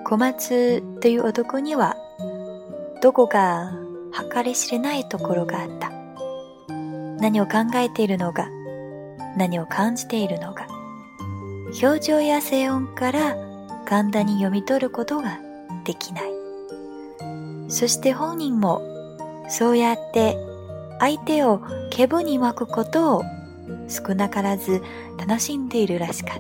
小松という男にはどこか計り知れないところがあった。何を考えているのか、何を感じているのか、表情や声音から簡単に読み取ることができない。そして本人もそうやって相手を気分に巻くことを少なからず楽しんでいるらしかった。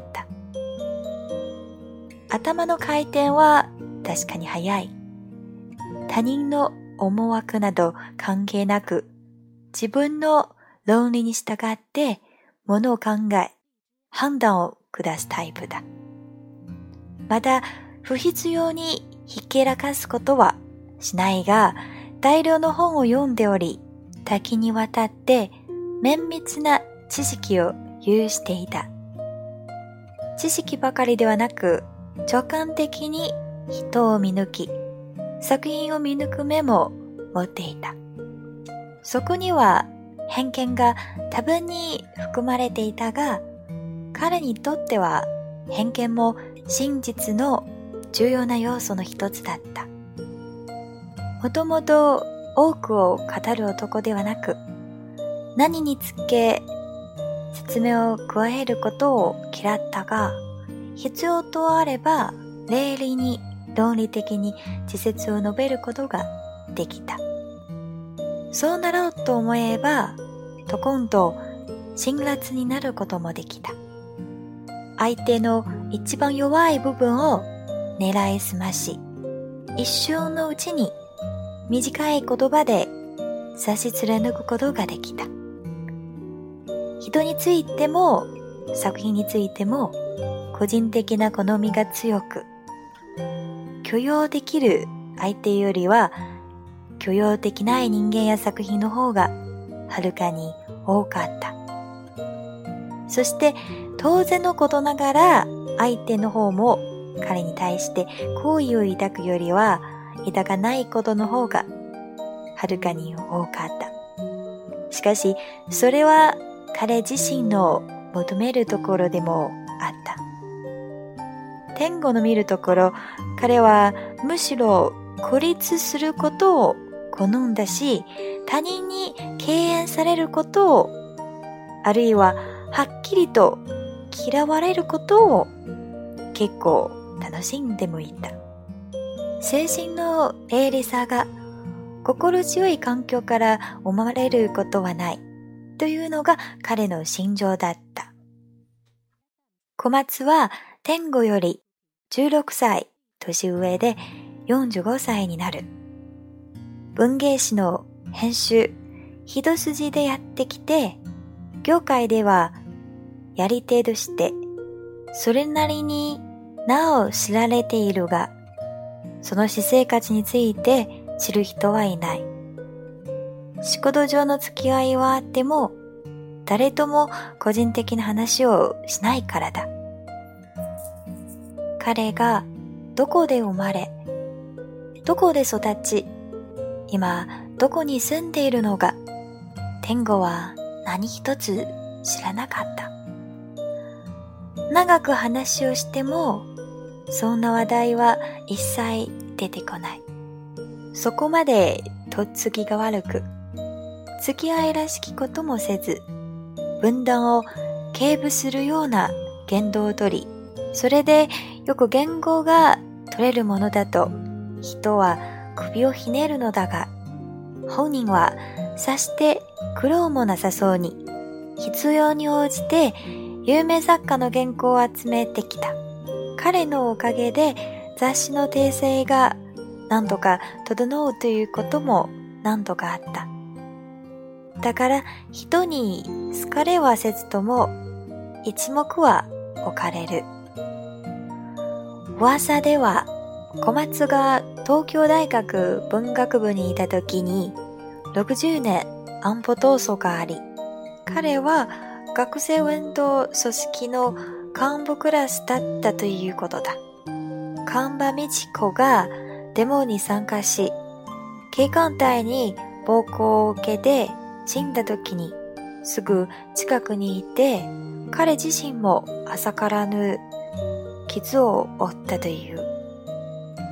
頭の回転は確かに速い。他人の思惑など関係なく、自分の論理に従ってものを考え、判断を下すタイプだ。また、不必要にひけらかすことはしないが、大量の本を読んでおり、多岐にわたって綿密な知識を有していた。知識ばかりではなく、直感的に人を見抜き、作品を見抜く目も持っていた。そこには偏見が多分に含まれていたが、彼にとっては偏見も真実の重要な要素の一つだった。もともと多くを語る男ではなく、何につけ説明を加えることを嫌ったが、必要とあれば霊理に論理的に事説を述べることができた。そうなろうと思えば、と今度辛辣になることもできた。相手の一番弱い部分を狙いすまし、一瞬のうちに短い言葉で差し貫くことができた。人についても作品についても個人的な好みが強く、許容できる相手よりは許容できない人間や作品の方がはるかに多かった。そして当然のことながら相手の方も彼に対して好意を抱くよりは抱かないことの方がはるかに多かった。しかしそれは彼自身の求めるところでもあった。天吾の見るところ、彼はむしろ孤立することを好んだし、他人に敬遠されることを、あるいははっきりと嫌われることを結構楽しんでもいた。精神の鋭利さが心強い環境から生まれることはないというのが彼の心情だった。小松は天吾より16歳年上で45歳になる。文芸誌の編集一筋でやってきて、業界ではやり手としてそれなりに名を知られているが、その私生活について知る人はいない。仕事上の付き合いはあっても、誰とも個人的な話をしないからだ。彼がどこで生まれ、どこで育ち、今どこに住んでいるのか、天吾は何一つ知らなかった。長く話をしても、そんな話題は一切出てこない。そこまでとっつきが悪く、付き合いらしきこともせず、分断を軽侮するような言動をとり、それでよく言語が取れるものだと人は首をひねるのだが、本人はさして苦労もなさそうに、必要に応じて有名作家の原稿を集めてきた。彼のおかげで雑誌の訂正が何とか整うということも何とかあった。だから人に好かれはせずとも一目は置かれる。噂では小松が東京大学文学部にいた時に60年安保闘争があり、彼は学生運動組織の幹部クラスだったということだ。神場美智子がデモに参加し、警官隊に暴行を受けて死んだ時にすぐ近くにいて、彼自身も浅からぬ傷を負ったという。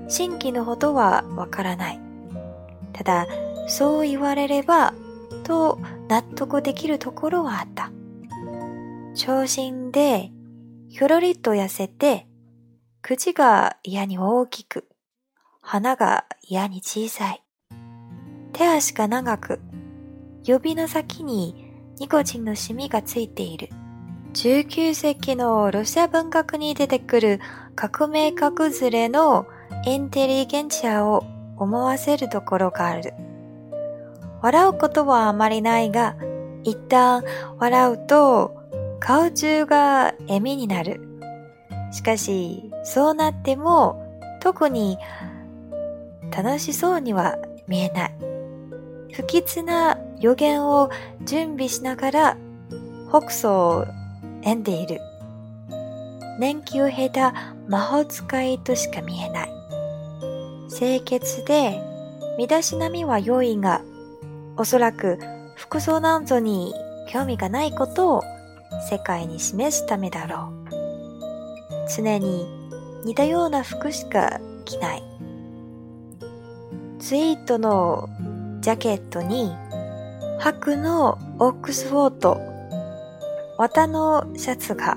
真偽のほどはわからない。ただ、そう言われれば、と納得できるところはあった。長身で、ひょろりと痩せて、口が嫌に大きく、鼻が嫌に小さい。手足が長く、指の先にニコチンのシミがついている。19世紀のロシア文学に出てくる革命家崩れのインテリゲンチアを思わせるところがある。笑うことはあまりないが、一旦笑うと顔中が笑みになる。しかし、そうなっても特に楽しそうには見えない。不吉な予言を準備しながら北総を演んでいる。年季を経た魔法使いとしか見えない。清潔で身だしなみは良いが、おそらく服装なんぞに興味がないことを世界に示すためだろう。常に似たような服しか着ない。ツイートのジャケットに白のオックスフォード、綿のシャツが、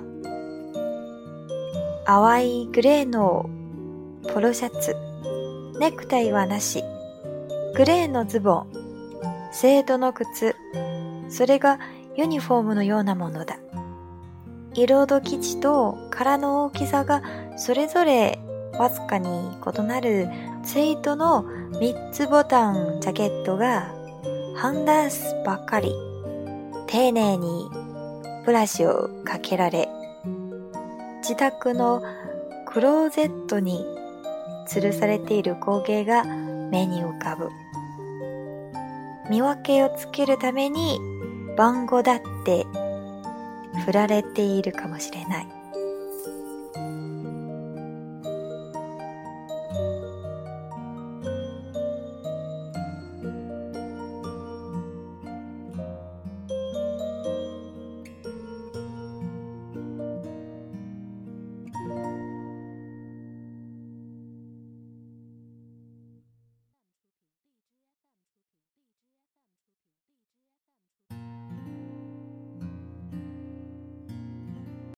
淡いグレーのポロシャツ、ネクタイはなし、グレーのズボン、セードの靴、それがユニフォームのようなものだ。色と生地と殻の大きさがそれぞれわずかに異なるツイートの3つボタンジャケットがハンダースばっかり、丁寧にブラシをかけられ、自宅のクローゼットに吊るされている光景が目に浮かぶ。見分けをつけるために番号だって振られているかもしれない。